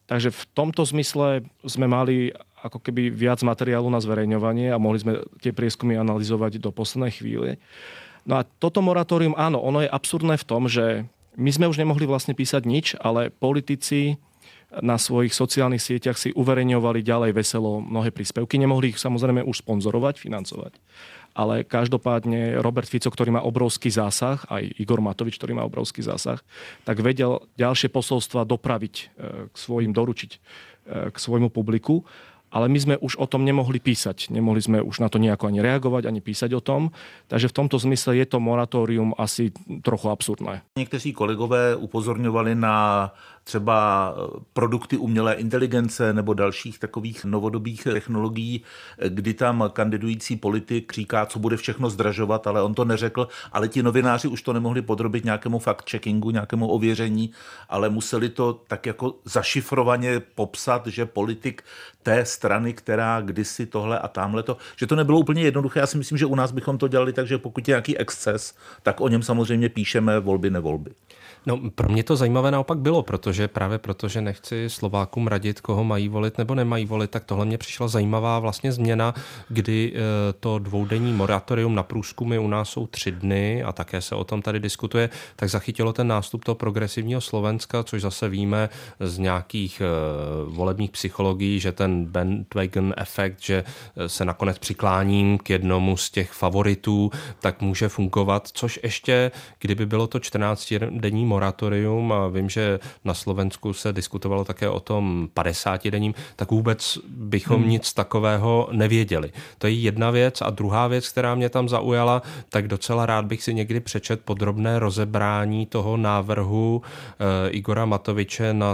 Takže v tomto zmysle sme mali ako keby viac materiálu na zverejňovanie a mohli sme tie prieskumy analyzovať do poslednej chvíle. No a toto moratórium, áno, ono je absurdné v tom, že my sme už nemohli vlastne písať nič, ale politici na svojich sociálnych sieťach si uverejňovali ďalej veselo mnohé príspevky. Nemohli ich samozrejme už sponzorovať, financovať. Ale každopádne Robert Fico, ktorý má obrovský zásah, aj Igor Matovič, ktorý má obrovský zásah, tak vedel ďalšie posolstva dopraviť k svojim, doručiť k svojmu publiku. Ale my sme už o tom nemohli písať. Nemohli sme už na to nejako ani reagovať, ani písať o tom. Takže v tomto zmysle je to moratórium asi trochu absurdné. Někteří kolegové upozorňovali na třeba produkty umělé inteligence nebo dalších takových novodobých technologií, kdy tam kandidující politik říká, co bude všechno zdražovat, ale on to neřekl, ale ti novináři už to nemohli podrobit nějakému fact-checkingu, nějakému ověření, ale museli to tak jako zašifrovaně popsat, že politik té strany, která kdysi tohle a tamhleto, že to nebylo úplně jednoduché. Já si myslím, že u nás bychom to dělali tak, že pokud je nějaký exces, tak o něm samozřejmě píšeme volby, nevolby. No, pro mě to zajímavé naopak bylo, protože nechci Slovákům radit, koho mají volit nebo nemají volit, tak tohle mě přišla zajímavá vlastně změna, kdy to dvoudenní moratorium na průzkumy u nás jsou 3 dny a také se o tom tady diskutuje, tak zachytilo ten nástup toho progresivního Slovenska, což zase víme z nějakých volebních psychologií, že ten bandwagon efekt, že se nakonec přikláním k jednomu z těch favoritů, tak může fungovat, což ještě, kdyby bylo to 14denní moratorium a vím, že na Slovensku se diskutovalo také o tom 50denním, tak vůbec bychom nic takového nevěděli. To je jedna věc a druhá věc, která mě tam zaujala, tak docela rád bych si někdy přečet podrobné rozebrání toho návrhu Igora Matoviče na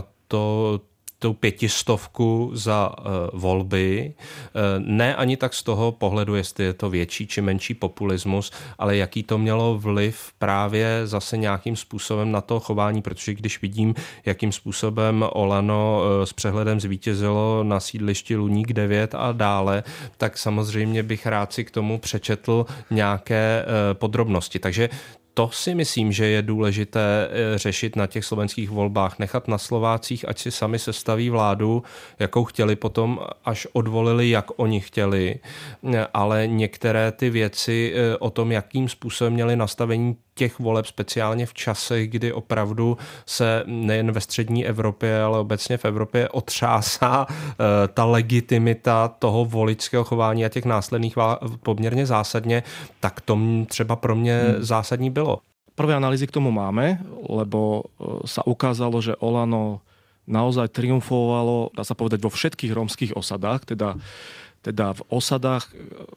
tou 500 za volby. Ne ani tak z toho pohledu, jestli je to větší či menší populismus, ale jaký to mělo vliv právě zase nějakým způsobem na to chování, protože když vidím, jakým způsobem Olano s přehledem zvítězilo na sídlišti Luník 9 a dále, tak samozřejmě bych rád si k tomu přečetl nějaké podrobnosti. Takže to si myslím, že je důležité řešit na těch slovenských volbách, nechat na Slovácích, ať si sami sestaví vládu, jakou chtěli potom, až odvolili, jak oni chtěli, ale některé ty věci o tom, jakým způsobem měli nastavení těch voleb, speciálně v časech, kdy opravdu se nejen ve střední Evropě, ale obecně v Evropě otřásá ta legitimita toho voličského chování a těch následných poměrně zásadně, tak to třeba pro mě zásadní bylo. Prvé analýzy k tomu máme, lebo sa ukázalo, že Olano naozaj triumfovalo, dá sa povedať, vo všetkých rómskych osadách, teda v osadách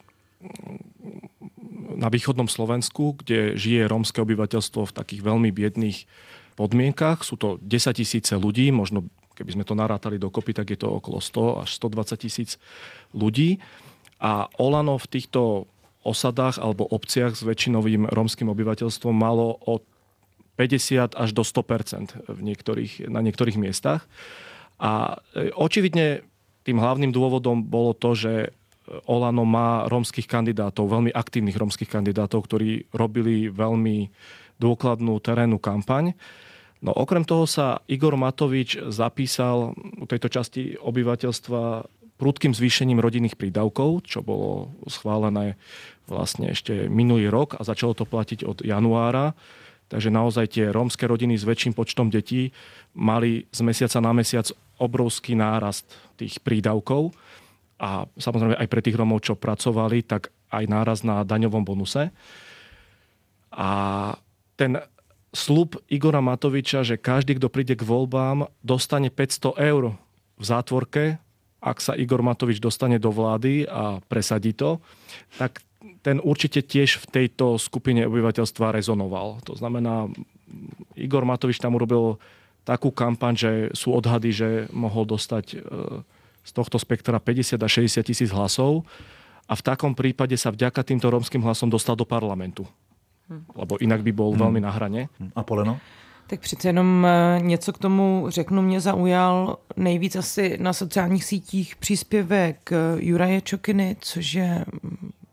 na východnom Slovensku, kde žije rómske obyvateľstvo v takých veľmi biedných podmienkach. Sú to 10 000 ľudí, možno keby sme to narátali dokopy, tak je to okolo 100 až 120 000 ľudí. A Olano v týchto osadách alebo obciach s väčšinovým rómskym obyvateľstvom malo od 50 až do 100% na niektorých miestach. A očividne tým hlavným dôvodom bolo to, že Olano má rómskych kandidátov, veľmi aktívnych rómskych kandidátov, ktorí robili veľmi dôkladnú terénnu kampaň. No okrem toho sa Igor Matovič zapísal u tejto časti obyvateľstva prudkým zvýšením rodinných prídavkov, čo bolo schválené vlastne ešte minulý rok a začalo to platiť od januára. Takže naozaj tie rómske rodiny s väčším počtom detí mali z mesiaca na mesiac obrovský nárast tých prídavkov. A samozrejme aj pre tých Rómov, čo pracovali, tak aj náraz na daňovom bonuse. A ten sľub Igora Matoviča, že každý, kto príde k voľbám, dostane 500 eur v zátvorke, ak sa Igor Matovič dostane do vlády a presadí to, tak ten určite tiež v tejto skupine obyvateľstva rezonoval. To znamená, Igor Matovič tam urobil takú kampaň, že sú odhady, že mohol dostať z tohto spektra 50 až 60 000 hlasov a v takom prípade sa vďaka týmto rómskym hlasom dostal do parlamentu. Lebo inak by bol veľmi na hrane. A Poleno? Tak přece jenom něco k tomu řeknu, mě zaujal nejvíc asi na sociálních sítích příspěvek Juraje Čokiny, což je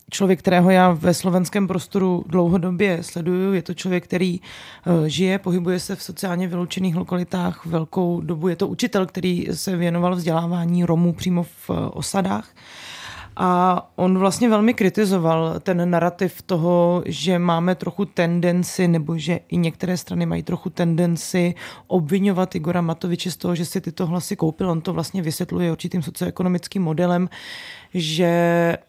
člověk, kterého já ve slovenském prostoru dlouhodobě sleduju. Je to člověk, který žije, pohybuje se v sociálně vyloučených lokalitách velkou dobu. Je to učitel, který se věnoval vzdělávání Romů přímo v osadách. A on vlastně velmi kritizoval ten narrativ toho, že máme trochu tendenci, nebo že i některé strany mají trochu tendenci obvinovat Igora Matoviče z toho, že si tyto hlasy koupil. On to vlastně vysvětluje určitým socioekonomickým modelem, že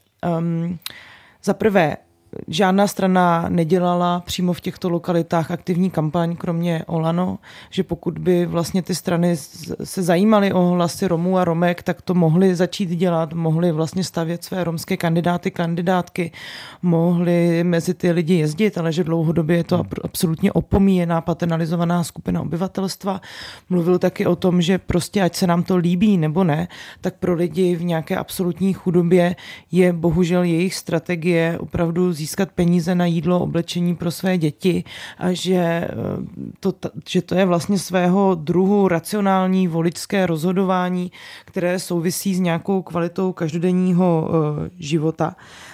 za prvé žádná strana nedělala přímo v těchto lokalitách aktivní kampaň, kromě Olano, že pokud by vlastně ty strany se zajímaly o hlasy Romů a Romek, tak to mohly začít dělat, mohly vlastně stavět své romské kandidátky, mohly mezi ty lidi jezdit, ale že dlouhodobě je to absolutně opomíjená, paternalizovaná skupina obyvatelstva. Mluvil taky o tom, že prostě ať se nám to líbí nebo ne, tak pro lidi v nějaké absolutní chudobě je bohužel jejich strategie opravdu získat peníze na jídlo, oblečení pro své děti a že to je vlastně svého druhu racionální voličské rozhodování, které souvisí s nějakou kvalitou každodenního života.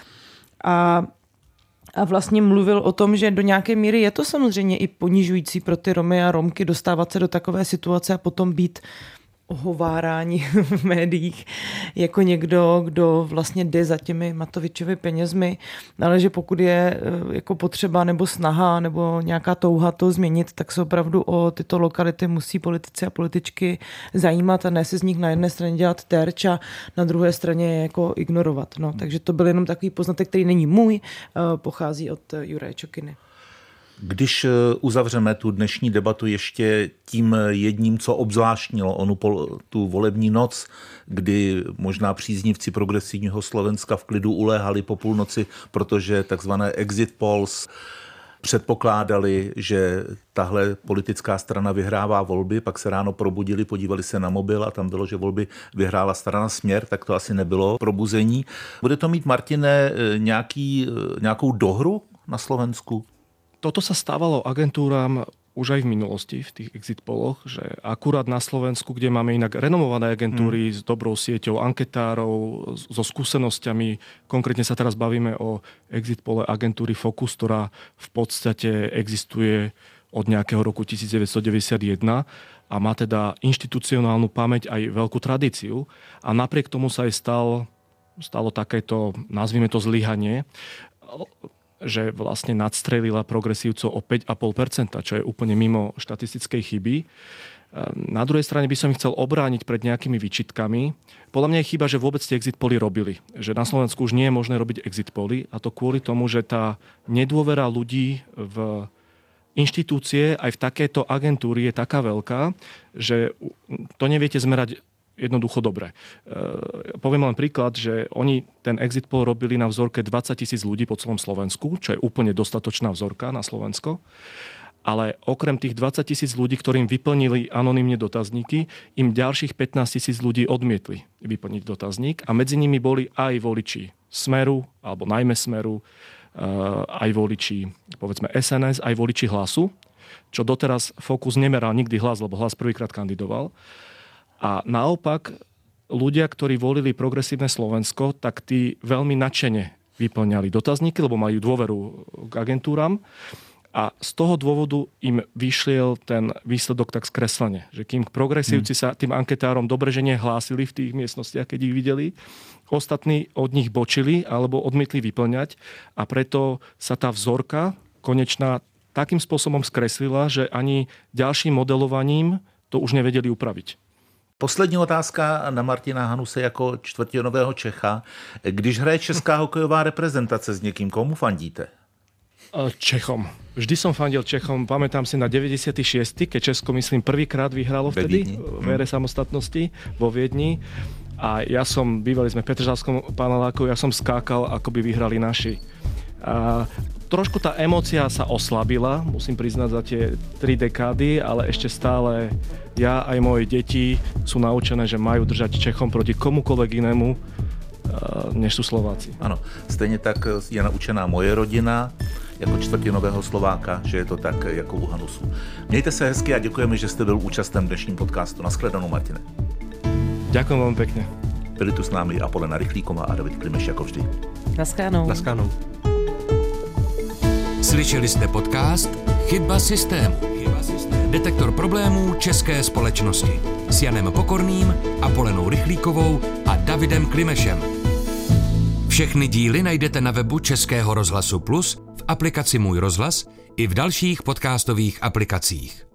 A vlastně mluvil o tom, že do nějaké míry je to samozřejmě i ponižující pro ty Romy a Romky dostávat se do takové situace a potom být ohovárání v médiích jako někdo, kdo vlastně jde za těmi Matovičovy penězmi, ale že pokud je jako potřeba nebo snaha nebo nějaká touha to změnit, tak se opravdu o tyto lokality musí politici a političky zajímat a ne si z nich na jedné straně dělat terč a na druhé straně je jako ignorovat. No, takže to byl jenom takový poznatek, který není můj, pochází od Juraje Čokiny. Když uzavřeme tu dnešní debatu ještě tím jedním, co obzvláštnilo tu volební noc, kdy možná příznivci progresivního Slovenska v klidu uléhali po půlnoci, protože takzvané exit polls předpokládali, že tahle politická strana vyhrává volby, pak se ráno probudili, podívali se na mobil a tam bylo, že volby vyhrála strana Směr, tak to asi nebylo probuzení. Bude to mít, Martine, nějakou dohru na Slovensku? Toto sa stávalo agentúram už aj v minulosti, v tých exit poloch, že akurát na Slovensku, kde máme inak renomované agentúry s dobrou sieťou anketárov, so skúsenosťami, konkrétne sa teraz bavíme o exit pole agentúry Focus, ktorá v podstate existuje od nejakého roku 1991 a má teda inštitucionálnu pamäť aj veľkú tradíciu. A napriek tomu sa aj stalo takéto, nazvime to zlyhanie, že vlastne nadstrelila progresívcov o 5,5%, čo je úplne mimo štatistickej chyby. Na druhej strane by som ich chcel obrániť pred nejakými výčitkami. Podľa mňa je chyba, že vôbec tie exit poly robili. Že na Slovensku už nie je možné robiť exit poly a to kvôli tomu, že tá nedôvera ľudí v inštitúcie aj v takéto agentúry je taká veľká, že to neviete zmerať jednoducho dobre. Poviem len príklad, že oni ten exit poll robili na vzorke 20 000 ľudí po celom Slovensku, čo je úplne dostatočná vzorka na Slovensko. Ale okrem tých 20 000 ľudí, ktorým vyplnili anonymne dotazníky, im ďalších 15 000 ľudí odmietli vyplniť dotazník a medzi nimi boli aj voliči Smeru, alebo najmä Smeru, aj voliči, povedzme SNS, aj voliči Hlasu, čo doteraz Focus nemeral nikdy Hlas, lebo Hlas prvýkrát kandidoval. A naopak, ľudia, ktorí volili progresívne Slovensko, tak tí veľmi nadšene vyplňali dotazníky, lebo majú dôveru k agentúram. A z toho dôvodu im vyšiel ten výsledok tak skreslene. Že kým progresívci sa tým anketárom dobre, že nehlásili v tých miestnostiach, keď ich videli, ostatní od nich bočili alebo odmietli vyplňať. A preto sa tá vzorka konečná takým spôsobom skreslila, že ani ďalším modelovaním to už nevedeli upraviť. Poslední otázka na Martina Hanuse jako čtvrtinového Čecha. Když hraje česká hokejová reprezentace s někým, komu fandíte? Čechom. Vždy som fandil Čechom. Pamätám si na 96., keď Česko, myslím, prvýkrát vyhralo vtedy v ére samostatnosti vo Viedni. A ja bývali sme v Petržalskom paneláku, ja som skákal, ako by vyhrali naši. A trošku tá emócia sa oslabila, musím priznať, za tie 3 dekády, ale ešte stále ja aj moje deti sú naučené, že majú držať Čechom proti komukoľvek inému, než sú Slováci. Ano, stejně tak je naučená moje rodina jako čtvrtinového Slováka, že je to tak jako u Hanusu. Mějte se hezky a děkujeme, že jste byl účasten v dnešním podcastu. Naschledanou, Martine. Ďakujem veľmi pekne. Byli tu s námi Apolena Rychlíková a David Klimeš jako vždy. Naschledanou. Naschledanou. Slyšeli jste podcast Chyba systému. Detektor problémů české společnosti s Janem Pokorným, Apolenou Rychlíkovou a Davidem Klimešem. Všechny díly najdete na webu Českého rozhlasu Plus, v aplikaci Můj rozhlas i v dalších podcastových aplikacích.